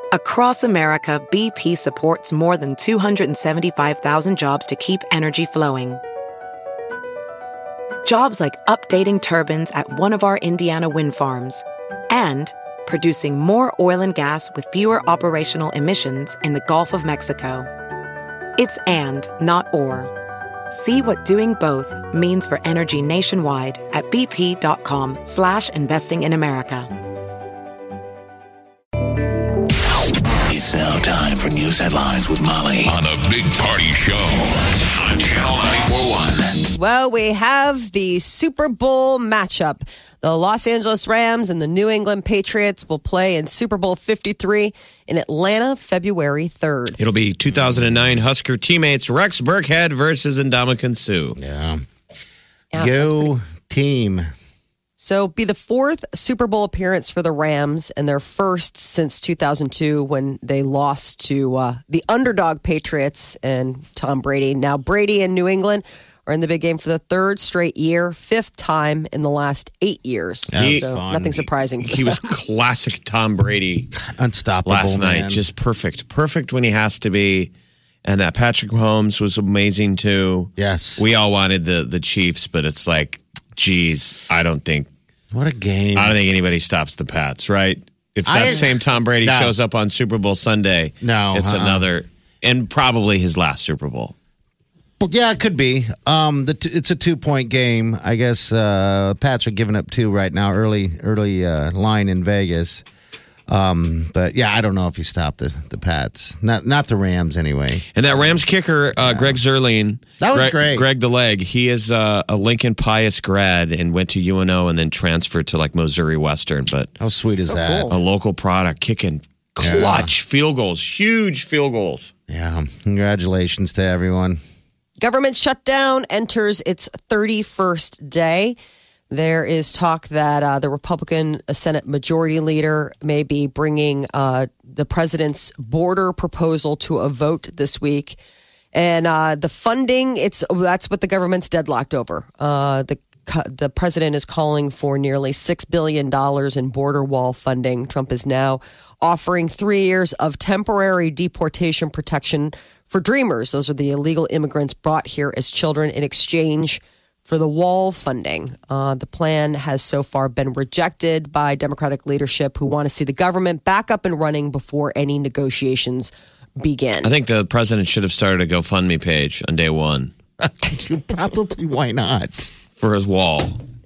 Across America, BP supports more than 275,000 jobs to keep energy flowing. Jobs like updating turbines at one of our Indiana wind farms and producing more oil and gas with fewer operational emissions in the Gulf of Mexico. It's and, not or. See what doing both means for energy nationwide at bp.com/investing in America. It's now time for news headlines with Molly on the Big Party Show on Channel 94.1. Well, we have the Super Bowl matchup. The Los Angeles Rams and the New England Patriots will play in Super Bowl 53 in Atlanta, February 3rd. It'll be 2009 Husker teammates Rex Burkhead versus Ndamukong Suh. Yeah. Yeah, Go team. So be the fourth Super Bowl appearance for the Rams and their first since 2002 when they lost to the underdog Patriots and Tom Brady. Now Brady and New England are in the big game for the third straight year, fifth time in the last 8 years. So nothing surprising. He was classic Tom Brady. Unstoppable last night. man. Just perfect. Perfect when he has to be. And that Patrick Mahomes was amazing too. Yes. We all wanted the Chiefs, but it's like, geez, I don't think What a game. anybody stops the Pats, right? If that same Tom Brady shows up on Super Bowl Sunday, it's another, and probably his last Super Bowl. Well, yeah, it could be. It's a 2-point game. I guess Pats are giving up 2 right now, early line in Vegas. But yeah, I don't know if you stop the Pats. Not the Rams anyway. And that Rams kicker, Greg Zerline. That was great. Greg the Leg. He is a Lincoln Pius grad and went to UNO and then transferred to like Missouri Western. But how sweet is that? Cool. A local product kicking clutch field goals, huge field goals. Yeah. Congratulations to everyone. Government shutdown enters its 31st day. There is talk that the Republican Senate Majority Leader may be bringing the president's border proposal to a vote this week. And the funding, that's what the government's deadlocked over. The president is calling for nearly $6 billion in border wall funding. Trump is now offering 3 years of temporary deportation protection for Dreamers. Those are the illegal immigrants brought here as children in exchange for the wall funding. The plan has so far been rejected by Democratic leadership who want to see the government back up and running before any negotiations begin. I think the president should have started a GoFundMe page on day one. Probably, why not? For his wall.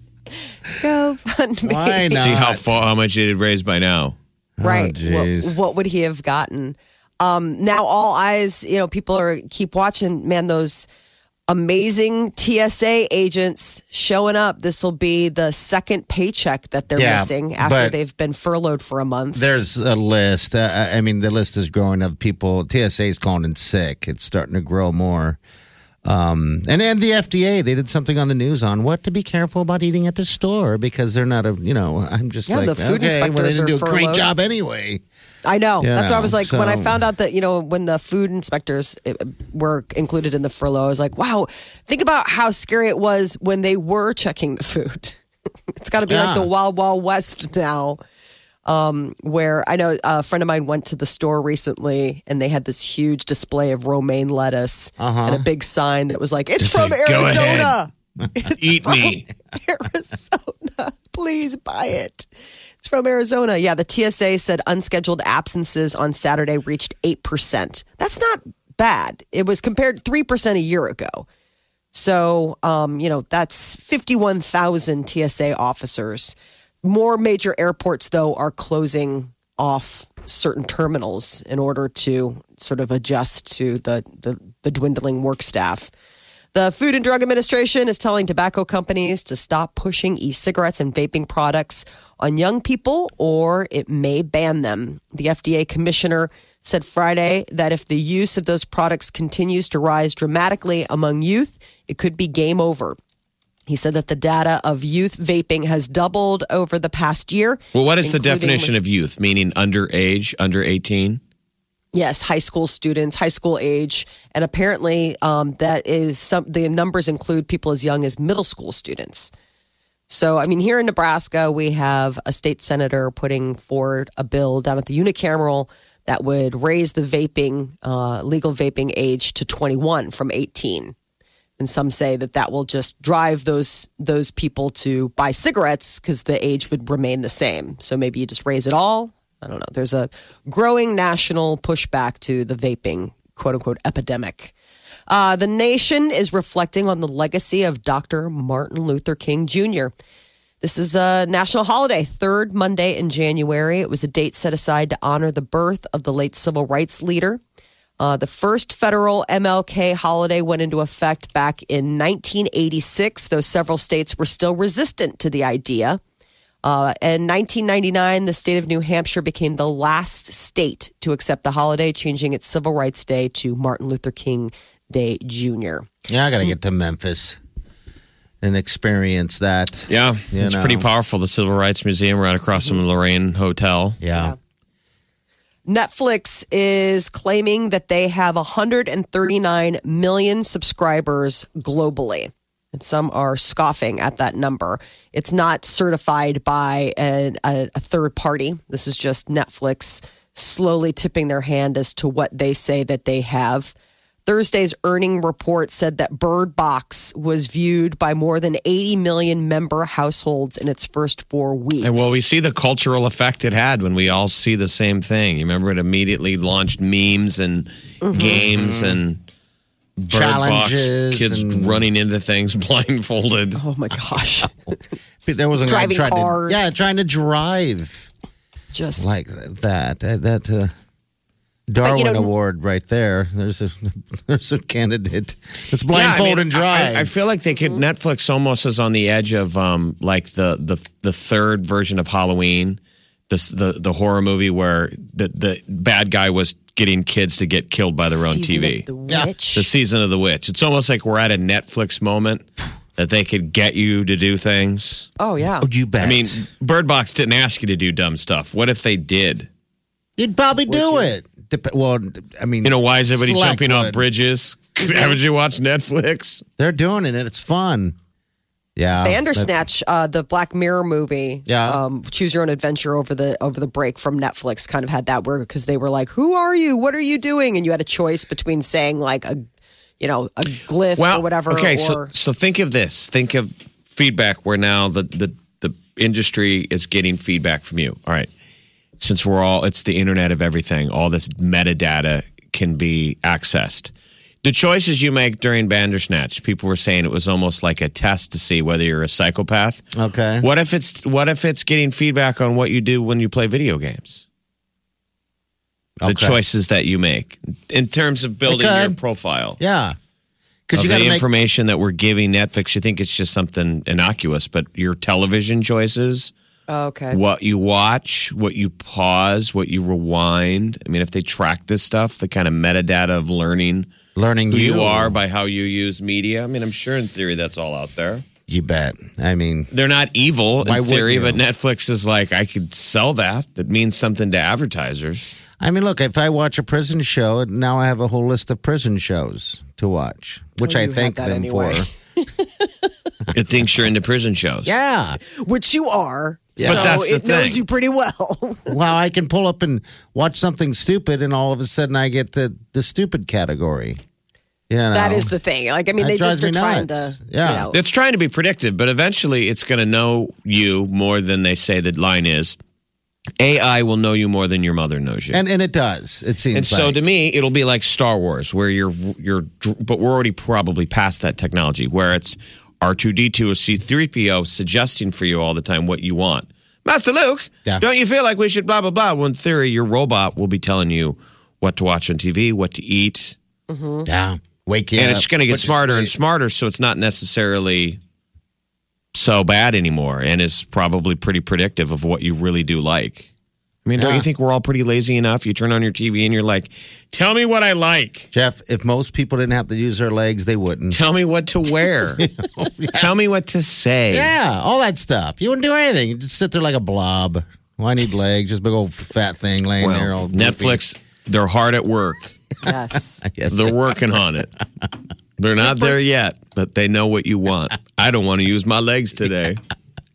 GoFundMe. Why not? See how much it had raised by now. Right. Oh, what would he have gotten? Now all eyes, people keep watching, man, those amazing TSA agents showing up. This will be the second paycheck that they're missing after they've been furloughed for a month. There's a list. The list is growing of people. TSA is calling in sick. It's starting to grow more. And the FDA, they did something on the news on what to be careful about eating at the store because they're not I'm just like, the food okay, well, they inspectors didn't do a are great furloughed. job anyway. I know. That's why I was like, when I so- found out that, when the food inspectors were included in the furlough, I was like, wow, think about how scary it was when they were checking the food. It's got to be like the Wild Wild West now. Where I know a friend of mine went to the store recently and they had this huge display of romaine lettuce and a big sign that was like, it's Just from like, "Go Arizona. Eat me. Arizona. Please buy it. It's from Arizona. Yeah, the TSA said unscheduled absences on Saturday reached 8%. That's not bad. It was compared to 3% a year ago. So, that's 51,000 TSA officers. More major airports, though, are closing off certain terminals in order to sort of adjust to the dwindling work staff. The Food and Drug Administration is telling tobacco companies to stop pushing e-cigarettes and vaping products on young people, or it may ban them. The FDA commissioner said Friday that if the use of those products continues to rise dramatically among youth, it could be game over. He said that the data of youth vaping has doubled over the past year. Well, what is the definition of youth? Meaning underage, under 18? Yes, high school students, high school age. And apparently the numbers include people as young as middle school students. So, I mean, here in Nebraska, we have a state senator putting forward a bill down at the unicameral that would raise the legal vaping age to 21 from 18. And some say that will just drive those people to buy cigarettes because the age would remain the same. So maybe you just raise it all. I don't know. There's a growing national pushback to the vaping, quote unquote, epidemic. The nation is reflecting on the legacy of Dr. Martin Luther King Jr. This is a national holiday, third Monday in January. It was a date set aside to honor the birth of the late civil rights leader. The first federal MLK holiday went into effect back in 1986, though several states were still resistant to the idea. In 1999, the state of New Hampshire became the last state to accept the holiday, changing its Civil Rights Day to Martin Luther King Day Jr. Yeah, I got to get to Memphis and experience that. Yeah, it's pretty powerful. The Civil Rights Museum right across from the Lorraine Hotel. Yeah. Netflix is claiming that they have 139 million subscribers globally. And some are scoffing at that number. It's not certified by a third party. This is just Netflix slowly tipping their hand as to what they say that they have. Thursday's earning report said that Bird Box was viewed by more than 80 million member households in its first 4 weeks. And well, we see the cultural effect it had when we all see the same thing. You remember it immediately launched memes and games and challenges, kids running into things blindfolded. Oh my gosh. There was a driving cars. trying to drive. Just like that. Darwin Award right there. There's a candidate that's blindfolded and drive. I feel like they could. Netflix almost is on the edge of like the third version of Halloween, the horror movie where the bad guy was getting kids to get killed by their own TV. The Season of the Witch. It's almost like we're at a Netflix moment that they could get you to do things. Oh yeah. Would you bet? I mean, Bird Box didn't ask you to do dumb stuff. What if they did? You'd probably do it. Well, I mean, why is everybody jumping off bridges? Haven't you watched Netflix? They're doing it, and it's fun. Yeah, Bandersnatch, the Black Mirror movie. Yeah, Choose Your Own Adventure over the break from Netflix kind of had that word because they were like, "Who are you? What are you doing?" And you had a choice between saying like a glyph or whatever. Okay, so think of this. Think of feedback where now the industry is getting feedback from you. All right. Since it's the internet of everything, all this metadata can be accessed. The choices you make during Bandersnatch, people were saying it was almost like a test to see whether you're a psychopath. Okay. What if it's getting feedback on what you do when you play video games? The choices that you make in terms of building your profile. Yeah. Because the information that we're giving Netflix, you think it's just something innocuous, but your television choices. Okay. What you watch, what you pause, what you rewind. I mean, if they track this stuff, the kind of metadata of learning who you are by how you use media. I mean, I'm sure in theory that's all out there. You bet. I mean, they're not evil in theory, but Netflix is like, I could sell that. That means something to advertisers. I mean, look, if I watch a prison show, now I have a whole list of prison shows to watch, which I thank them for. It thinks you're into prison shows. Yeah. Which you are. Yeah. But that's the thing. Knows you pretty well. Well, I can pull up and watch something stupid, and all of a sudden I get the stupid category. That is the thing. Like, I mean, they just are trying to. Yeah. It's trying to be predictive, but eventually it's going to know you more than they say the line is. AI will know you more than your mother knows you. And it does. It seems And so to me, it'll be like Star Wars, where but we're already probably past that technology, where it's R2-D2 or C-3PO suggesting for you all the time what you want. Master Luke, don't you feel like we should blah, blah, blah? Well, in theory, your robot will be telling you what to watch on TV, what to eat. Mm-hmm. Yeah. Wake you up. And it's going to get smarter and smarter, so it's not necessarily so bad anymore, and is probably pretty predictive of what you really do like. I mean, don't you think we're all pretty lazy enough? You turn on your TV and you're like, tell me what I like. Jeff, if most people didn't have to use their legs, they wouldn't. Tell me what to wear. Tell me what to say. Yeah, all that stuff. You wouldn't do anything. You just sit there like a blob. Well, I need legs. Just a big old fat thing laying there. All Netflix, they're hard at work. Yes. They're working on it. They're not there yet, but they know what you want. I don't want to use my legs today.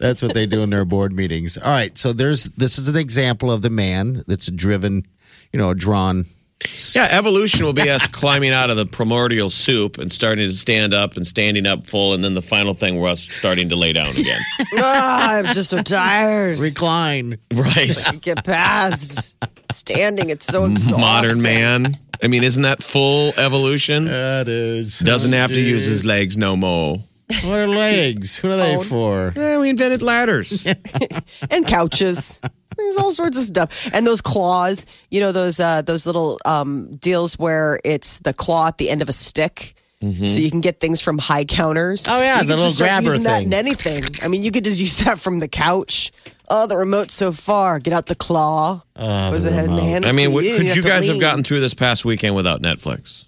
That's what they do in their board meetings. All right, so this is an example of the man that's driven, drawn. Yeah, evolution will be us climbing out of the primordial soup and starting to stand up and standing up full, and then the final thing we're us starting to lay down again. I'm just so tired. Recline. Right. Get past standing. It's so exhausting. Modern man. I mean, isn't that full evolution? That is. Doesn't have to use his legs no more. What are legs? What are they for? We invented ladders. And couches. There's all sorts of stuff. And those claws, those little deals where it's the claw at the end of a stick. Mm-hmm. So you can get things from high counters. Oh, yeah, you the little grabber using that thing. in anything. I mean, you could just use that from the couch. Oh, the remote's so far. Get out the claw. Was it hand I mean, to could you guys have lean. gotten through this past weekend without Netflix?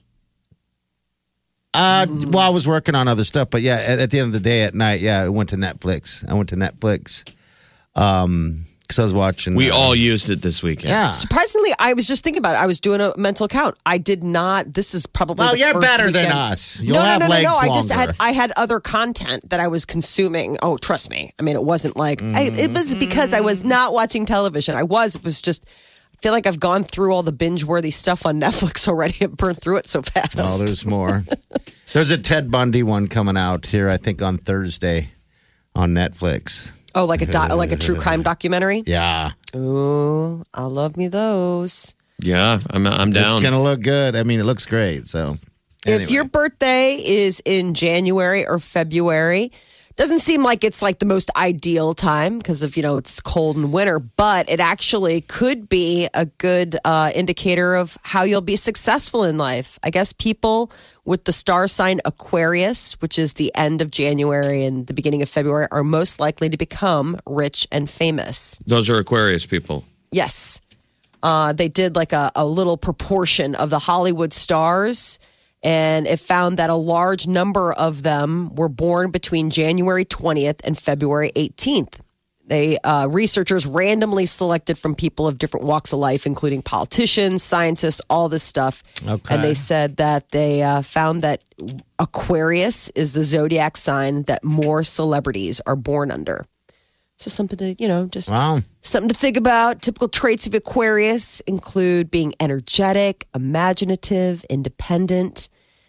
Well, I was working on other stuff, but yeah, at the end of the day at night, I went to Netflix. Because I was watching. We all used it this weekend. Yeah. Surprisingly, I was just thinking about it. I was doing a mental count. I did not. This is probably Well, the you're first better than weekend. us. You'll have legs I longer. just had other content that I was consuming. Oh, trust me. I mean, it wasn't like it was because I was not watching television. It was just. I feel like I've gone through all the binge-worthy stuff on Netflix already and burned through it so fast. Oh, there's more. There's a Ted Bundy one coming out here, I think, on Thursday on Netflix. Oh, like a true crime documentary? Yeah. Ooh, I love me those. Yeah, I'm down. It's going to look good. I mean, it looks great. So, If your birthday is in January or February, doesn't seem like it's like the most ideal time because of, it's cold and winter, but it actually could be a good indicator of how you'll be successful in life. I guess people with the star sign Aquarius, which is the end of January and the beginning of February, are most likely to become rich and famous. Those are Aquarius people. Yes. They did like a little proportion of the Hollywood stars, and it found that a large number of them were born between January 20th and February 18th. They researchers randomly selected from people of different walks of life, including politicians, scientists, all this stuff. Okay. And they said that they found that Aquarius is the zodiac sign that more celebrities are born under. So something to, just something to think about. Typical traits of Aquarius include being energetic, imaginative, independent.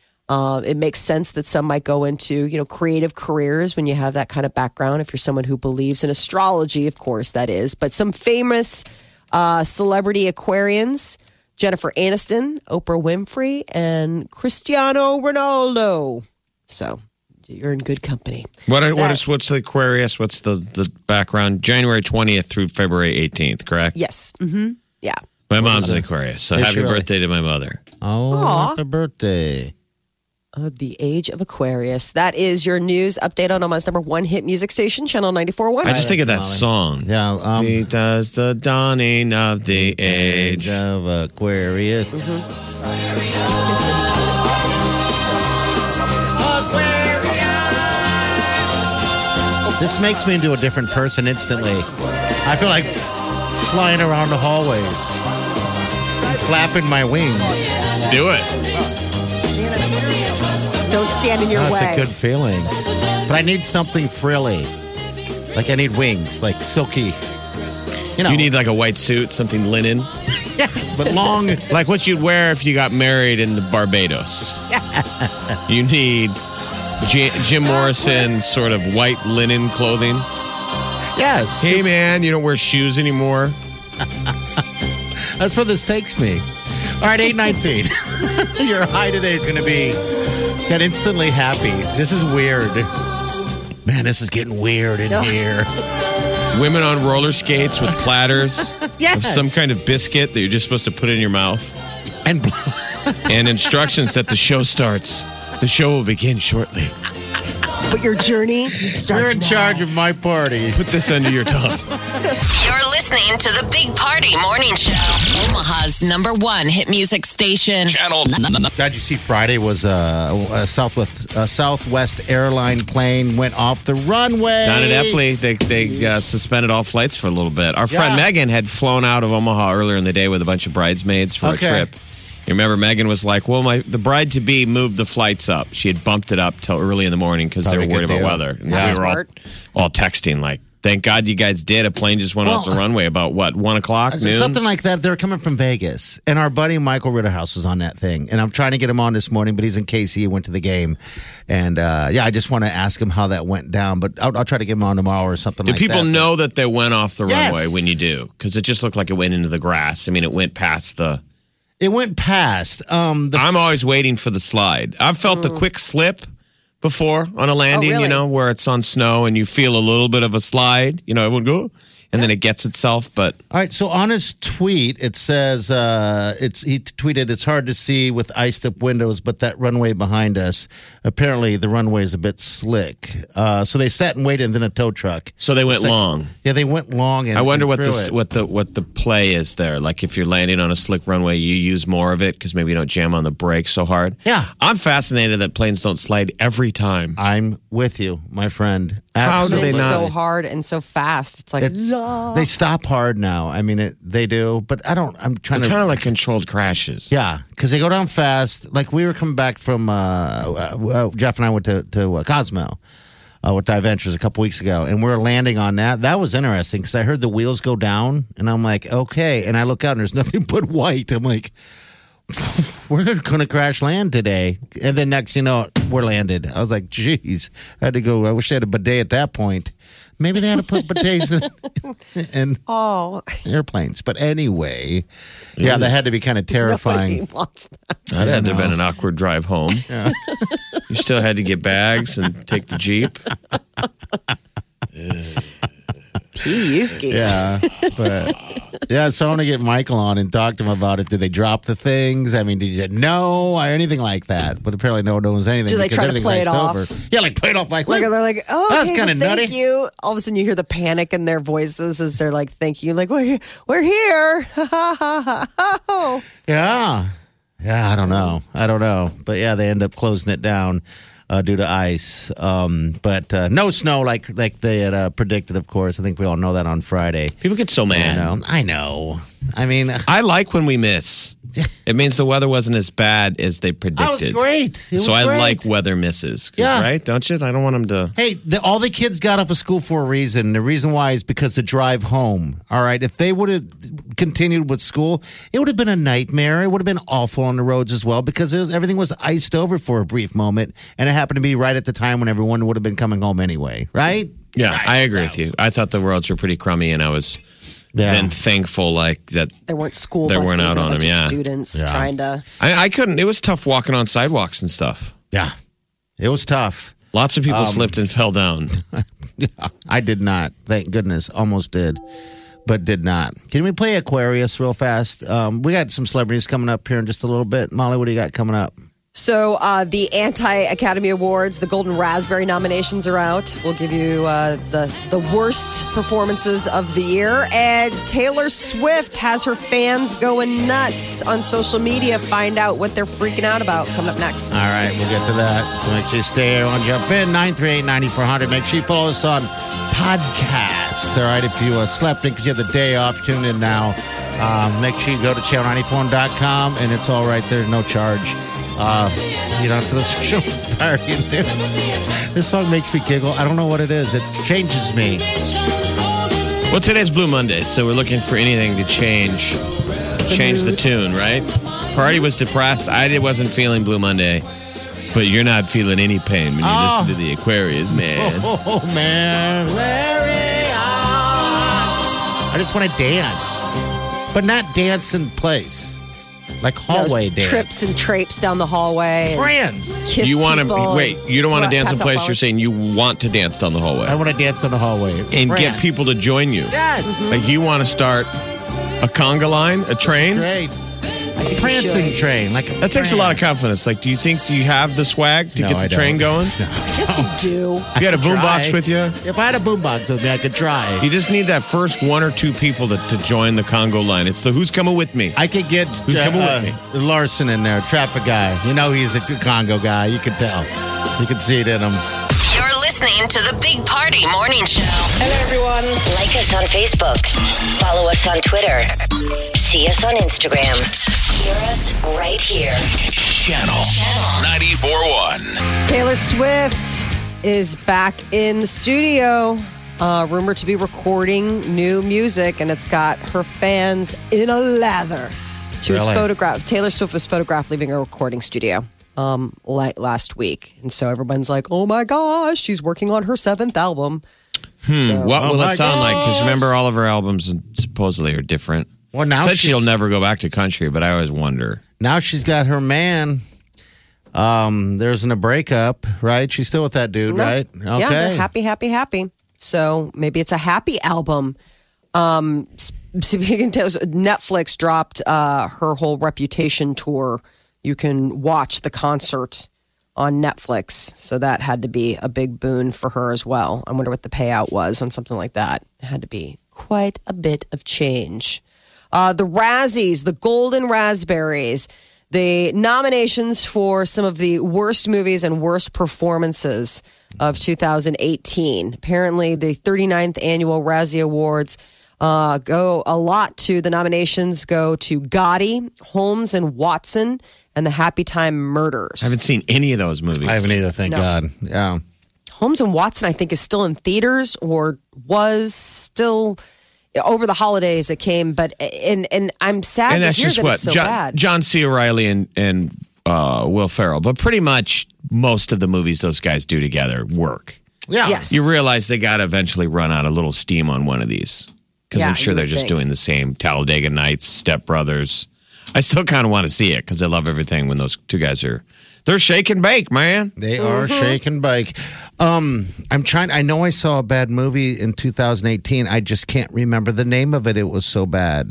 It makes sense that some might go into, creative careers when you have that kind of background. If you're someone who believes in astrology, of course, that is. But some famous celebrity Aquarians, Jennifer Aniston, Oprah Winfrey, and Cristiano Ronaldo. So you're in good company. What's the Aquarius? What's the background? January 20th through February 18th, correct? Yes. Mm-hmm. Yeah. My mom's an Aquarius, so Is she happy really? birthday to my mother. Oh, Aw. happy birthday. The age of Aquarius. That is your news update on Omaha's number one hit music station, Channel 94.1. I just think of that song. Yeah. It does the dawning of the age. Age of Aquarius. This makes me into a different person instantly. I feel like flying around the hallways, flapping my wings. Do it. Don't stand in your That's way. a good feeling. But I need something frilly. Like I need wings, like silky. You need like a white suit, something linen. Yes, but long. Like what you'd wear if you got married in the Barbados. You need Jim Morrison sort of white linen clothing. Yes. Hey, man, you don't wear shoes anymore. That's where this takes me. All right, 8:19. Your high today is going to be get instantly happy. This is weird. Man, this is getting weird in here. Women on roller skates with platters of Yes. some kind of biscuit that you're just supposed to put in your mouth. And And instructions that the show starts. The show will begin shortly. But your journey starts you're in now. charge of my party. Put this under your tongue. You're listening to the Big Party Morning Show. Omaha's number one hit music station. Channel God, you see, Friday was a Southwest airline plane went off the runway. Down at Epley, they suspended all flights for a little bit. Our friend Megan had flown out of Omaha earlier in the day with a bunch of bridesmaids for a trip. You remember Megan was like, well, the bride-to-be moved the flights up. She had bumped it up till early in the morning because they were Probably a worried good about deal. weather. And Yeah. we were Smart. all texting like, Thank God you guys did. A plane just went off the runway about what, 1 o'clock, noon? Something like that. They're coming from Vegas, and our buddy Michael Ritterhouse was on that thing. And I'm trying to get him on this morning, but he's in KC. He went to the game, and I just want to ask him how that went down. But I'll try to get him on tomorrow or something. Do like that. Do people know that they went off the Yes. runway when you do? Because it just looked like it went into the grass. I mean, it went past the. It went past. I'm always waiting for the slide. I've felt the quick slip before on a landing, really? where it's on snow and you feel a little bit of a slide. Everyone go, and then it gets itself. But All right, so on his tweet, it says he tweeted, "It's hard to see with iced up windows, but that runway behind us, apparently the runway is a bit slick." So they sat and waited, and then a tow truck. so they went long. Yeah, they went long. And I wonder what through it. what the play is there. Like if you're landing on a slick runway, you use more of it because maybe you don't jam on the brakes so hard. Yeah. I'm fascinated that planes don't slide every time. I'm with you, my friend. How do And they it's not? so hard and so fast. It's like, They stop hard now. I mean, they do, but I don't. I'm trying They're to. kind of like controlled crashes. Yeah, because they go down fast. Like we were coming back from Jeff and I went to Cosmo with Dive Ventures a couple weeks ago, and we were landing on that. That was interesting because I heard the wheels go down, and I'm like, okay. And I look out, and there's nothing but white. I'm like, we're going to crash land today. And then next, we're landed. I was like, geez, I had to go. I wish they had a bidet at that point. Maybe they had to put bidets in airplanes. But anyway, yeah, that had to be kind of terrifying. nobody wants that. That had to have been an awkward drive home. You still had to get bags and take the Jeep. Yeah, but so I want to get Michael on and talk to him about it. Did they drop the things? I mean, did you know or anything like that? But apparently, no one knows anything. Do they because try to everything's play it iced off? over. Yeah, like play it off like Like they're like, oh, That's okay, kinda thank nutty. you. All of a sudden, you hear the panic in their voices as they're like, thank you. Like, we're here. Yeah, I don't know. But yeah, they end up closing it down due to ice. But no snow like they had predicted. Of course, I think we all know that on Friday. People get so mad. I know. I mean, I like when we miss. It means the weather wasn't as bad as they predicted. that was great. It was So I great. like weather misses. 'Cause, Yeah. Right? Don't you? I don't want them to. Hey, all the kids got off of school for a reason. The reason why is because the drive home. All right. If they would have continued with school, it would have been a nightmare. It would have been awful on the roads as well because everything was iced over for a brief moment. And it happened to be right at the time when everyone would have been coming home anyway. Right? Yeah, I agree with you. I thought the roads were pretty crummy, and I was then thankful that There weren't school They buses weren't out and a on bunch them, of yeah. students trying to. I couldn't. It was tough walking on sidewalks and stuff. Yeah. It was tough. Lots of people slipped and fell down. I did not. Thank goodness. Almost did, but did not. Can we play Aquarius real fast? We got some celebrities coming up here in just a little bit. Molly, what do you got coming up? So the anti-Academy Awards, the Golden Raspberry nominations are out. We'll give you the worst performances of the year. And Taylor Swift has her fans going nuts on social media. Find out what they're freaking out about. Coming up next. All right, we'll get to that. So make sure you stay here on Jump In, 938-9400. Make sure you follow us on podcast. All right, if you slept in because you have the day off, tune in now. Make sure you go to channel94.com, and it's all right there, no charge. You don't have to listen to the show party in there. This song makes me giggle. I don't know what it is. It changes me. Well, today's Blue Monday, so we're looking for anything to change the tune, right? Party was depressed. I wasn't feeling Blue Monday, but you're not feeling any pain when you listen to the Aquarius, man. Oh, man. I just want to dance, but not dance in place. Like hallway dance. Trips and trapes down the hallway. And Friends. kiss You want to people wait? and You don't want to dance in pass out place. flowers. You're saying you want to dance down the hallway I want to dance in the hallway. and Friends. get people to join you. Yes. Like you want to start a conga line, a train. Great. I think you Prancing should. train. Like That takes a lot of confidence. Like, do you have the swag to No, get I the train don't. going? Yes, you do. If you had a boombox Try. with you, If I had a boombox with me, I could try. you just need that first one or two people to join the Congo line. It's the who's coming with me. I could get Who's coming with me? Larson in there, traffic guy. You know he's a Congo guy. You can tell. You can see it in him. You're listening to the Big Party Morning Show. Hello, everyone. Like us on Facebook. Follow us on Twitter. See us on Instagram. Hear us right here. Channel 94.1. Taylor Swift is back in the studio. rumored to be recording new music, and it's got her fans in a lather. She was photographed. Taylor Swift was photographed leaving a recording studio last week, and so everyone's like, "Oh my gosh, she's working on her 7th album." What will it sound like? Because remember, all of her albums supposedly are different. Well, now said she'll never go back to country, but I always wonder. Now she's got her man. There's a breakup, right? She's still with that dude, right? Okay. Yeah, they're happy. So maybe it's a happy album. Speaking of Netflix dropped her whole Reputation tour. You can watch the concert on Netflix. So that had to be a big boon for her as well. I wonder what the payout was on something like that. It had to be quite a bit of change. The Razzies, the Golden Raspberries, the nominations for some of the worst movies and worst performances of 2018. Apparently, the 39th annual Razzie Awards go a lot to the nominations go to Gotti, Holmes and Watson, and the Happy Time Murders. I haven't seen any of those movies. I haven't either, thank God. Yeah. Holmes and Watson, I think, is still in theaters or was still over the holidays. It came, but and I'm sad and to that's hear just that what it's so bad. John C. Reilly and Will Ferrell, but pretty much most of the movies those guys do together work. Yeah. Yes. You realize they got to eventually run out a little steam on one of these because Yeah, I'm sure you they're would just think. doing the same. Talladega Nights, Step Brothers. I still kind of want to see it because I love everything when those two guys they're shake and bake, man. They are shake and bake. I'm trying. I know I saw a bad movie in 2018. I just can't remember the name of it. It was so bad.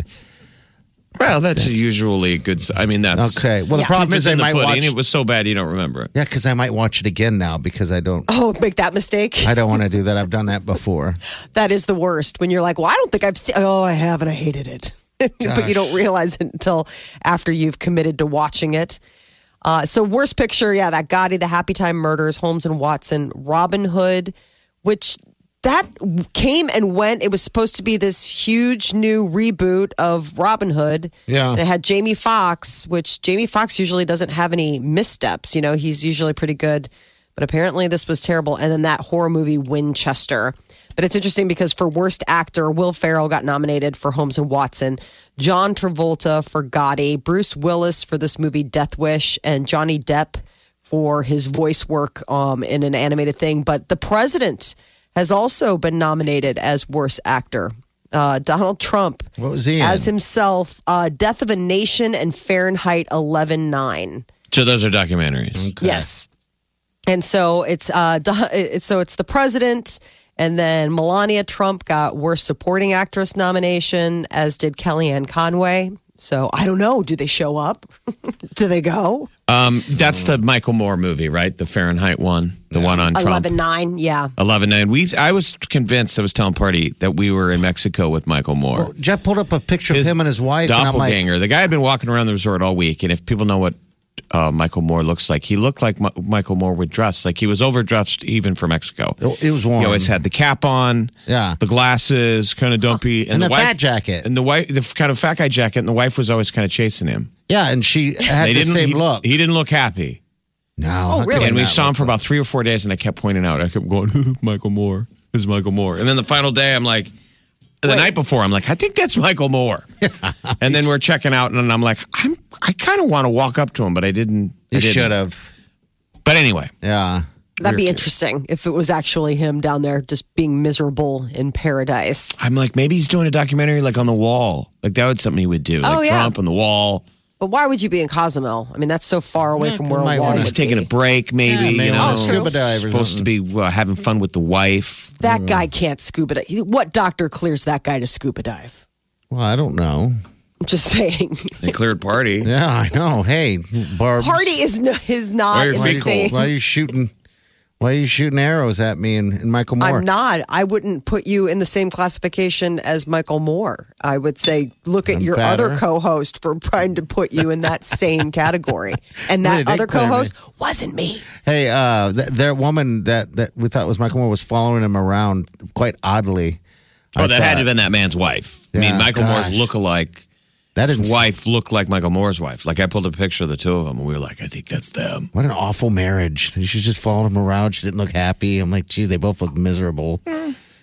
Well, that's usually good. I mean, that's Okay. Well, the problem Proof is in I the might pudding. watch. It was so bad you don't remember it. Yeah, because I might watch it again now because I don't. Oh, make that mistake. I don't want to do that. I've done that before. That is the worst when you're like, well, I don't think I've seen. Oh, I have, and I hated it. But you don't realize it until after you've committed to watching it. So worst picture, yeah, that Gotti, the Happy Time Murders, Holmes and Watson, Robin Hood, which that came and went. It was supposed to be this huge new reboot of Robin Hood. Yeah. And it had Jamie Foxx, which Jamie Foxx usually doesn't have any missteps. You know, he's usually pretty good. But apparently this was terrible. And then that horror movie, Winchester. But it's interesting because for worst actor, Will Ferrell got nominated for Holmes and Watson, John Travolta for Gotti, Bruce Willis for this movie Death Wish, and Johnny Depp for his voice work in an animated thing. But the president has also been nominated as worst actor. Donald Trump What was he in? as himself, Death of a Nation and Fahrenheit 11/9. So those are documentaries. Okay. Yes. And so it's the president, and then Melania Trump got worst supporting actress nomination, as did Kellyanne Conway. So I don't know. Do they show up? Do they go? That's the Michael Moore movie, right? The Fahrenheit one, the one on Trump. 11/9, yeah. 11/9. I was convinced. I was telling Party that we were in Mexico with Michael Moore. Well, Jeff pulled up a picture of him and his wife. And I'm like, doppelganger. The guy had been walking around the resort all week, and if people know what Michael Moore looks like, he looked like Michael Moore would dress. Like he was overdressed even for Mexico. it was warm. He always had the cap on, Yeah. the glasses, kind of dumpy, And the the fat jacket. and the kind of fat guy jacket. And the wife was always kind of chasing him. Yeah, and she had the same look. He didn't look happy. No. Oh, how could really? he And we not saw him look for about 3 or 4 days, and I kept pointing out. I kept going, Michael Moore. This is Michael Moore. And then the final day, I'm like, the night before, I'm like, I think that's Michael Moore. And then we're checking out, and I'm like, I kind of want to walk up to him, but I didn't. You I didn't. should have. But anyway, Yeah. That'd be interesting if it was actually him down there just being miserable in paradise. I'm like, maybe he's doing a documentary like on the wall. Like that would something he would do. Oh, Like yeah. Trump on the wall. But why would you be in Cozumel? I mean, that's so far away Yeah, from you where might a wall wanna- would He's taking a be. break, maybe. Yeah, maybe you know, wanna scuba dive or supposed to be having fun with the wife. That guy can't scuba dive. What doctor clears that guy to scuba dive? Well, I don't know. I'm just saying. They cleared Party. Yeah, I know. Hey, Barb. Party is not Why are your feet insane. Why are you shooting? Why are you shooting arrows at me and Michael Moore? I'm not. I wouldn't put you in the same classification as Michael Moore. I would say, look at I'm your fatter. other co-host for trying to put you in that same category. And Well, they that did other clear me. co-host wasn't me. Hey, that woman that we thought was Michael Moore was following him around quite oddly. Oh, that had to have been that man's wife. I mean, Yeah, Michael gosh. Moore's lookalike. That His is wife looked like Michael Moore's wife. Like I pulled a picture of the two of them, and we were like, I think that's them. What an awful marriage. She just followed him around. She didn't look happy. I'm like, geez, they both look miserable.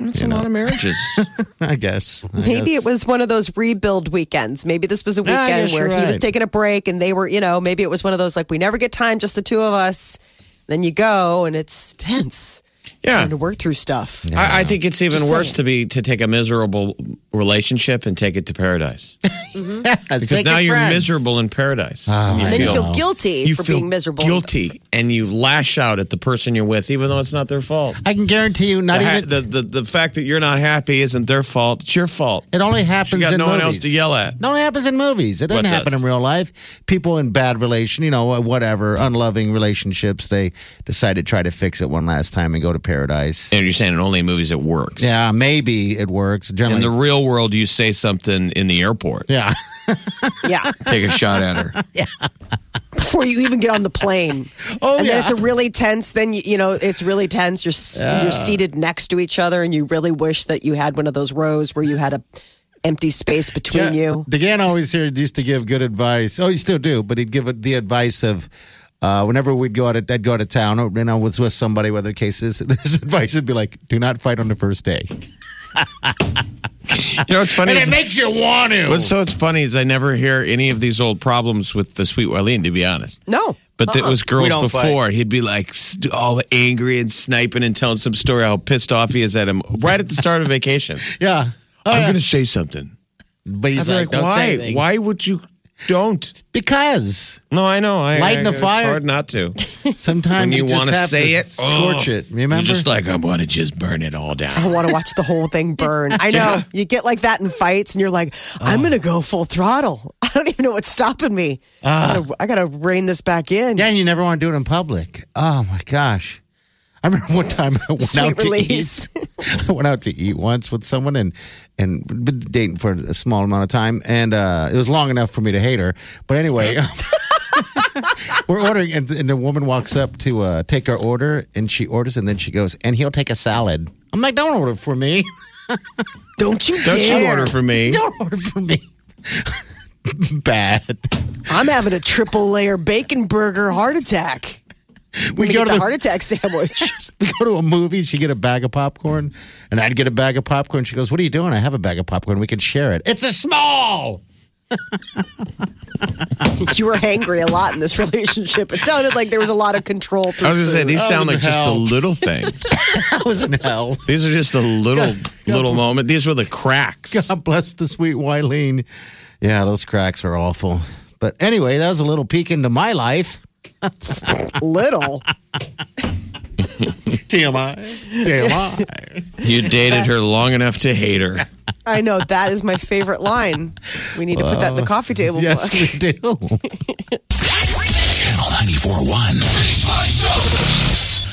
That's a lot of marriages. I guess. Maybe it was one of those rebuild weekends. Maybe this was a Yeah, I weekend guess where you're he was right. taking a break and they were, maybe it was one of those like, we never get time, just the two of us. Then you go and it's tense. Yeah. Trying to work through stuff. I think it's even Just worse saying. to take a miserable relationship and take it to paradise. Yes, Because take now your you're friends. miserable in paradise. And then you feel guilty you for feel being miserable. guilty, and you lash out at the person you're with, even though it's not their fault. I can guarantee you, not even. The fact that you're not happy isn't their fault. It's your fault. It only happens You got in no movies. one else to yell at. It only happens in movies. It doesn't What happen does? in real life. People in bad relation, whatever, unloving relationships, they decide to try to fix it one last time and go to paradise. And you're saying in only movies it works. Yeah, maybe it works. In Generally, the real world, you say something in the airport. yeah. Yeah. Take a shot at her. Before you even get on the plane. Oh, and yeah. then it's a really tense, then, it's really tense. You're seated next to each other and you really wish that you had one of those rows where you had a empty space between you. DeGan always here used to give good advice. Oh, he still do, but he'd give the advice of whenever I'd go out of town, or I was with somebody, whether the case is, his advice would be like, do not fight on the first day. You know what's funny? And is- it makes you want to. What's funny is I never hear any of these old problems with the sweet Wileen, to be honest. No. But it was girls We don't before. He'd be like all angry and sniping and telling some story how pissed off he is at him right at the start of vacation. Yeah. I'm going to say something. But I'd he's be like, like, don't say why? anything. Why would you don't? Because No, I know. Lighten a fire. It's hard not to. sometimes When you just wanna have say to it, scorch it. Remember? You're just like, I want to just burn it all down. I want to watch the whole thing burn. I know. You get like that in fights and you're like, I'm going to go full throttle. I don't even know what's stopping me. I got to rein this back in. Yeah, and you never want to do it in public. Oh my gosh. I remember one time I went Sweet out to release. eat. I went out to eat once with someone and been dating for a small amount of time, and it was long enough for me to hate her. But anyway, we're ordering, and the woman walks up to take our order, and she orders, and then she goes, and he'll take a salad. I'm like, don't order for me. Don't you Don't dare. you order for me? Don't order for me. Bad. I'm having a triple layer bacon burger heart attack. We go get to the the- heart attack sandwich. We go to a movie. She get a bag of popcorn, and I'd get a bag of popcorn. She goes, "What are you doing? I have a bag of popcorn. We can share it. It's a small." You were hangry a lot in this relationship. It sounded like there was a lot of control through I was going to say, food. these sound like just the hell. little things. I was in hell. These are just the little moment. These were the cracks. God bless the sweet Wileen. Yeah, those cracks are awful. But anyway, that was a little peek into my life. Little. TMI. TMI. You dated her long enough to hate her. I know. That is my favorite line. We need to put that in the coffee table Yes, book. we do. Channel 94.1.